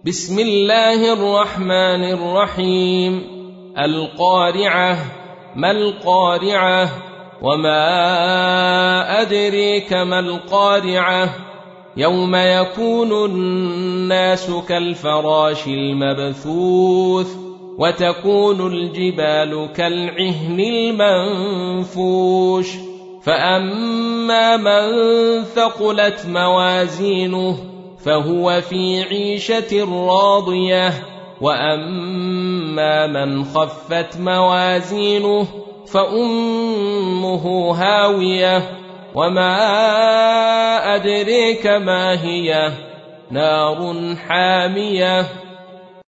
بسم الله الرحمن الرحيم. القارعة. ما القارعة؟ وما أدريك ما القارعة؟ يوم يكون الناس كالفراش المبثوث وتكون الجبال كالعهن المنفوش فأما من ثقلت موازينه فهو في عيشة راضية وأما من خفت موازينه فأمه هاوية وما أدريك ما هي نار حامية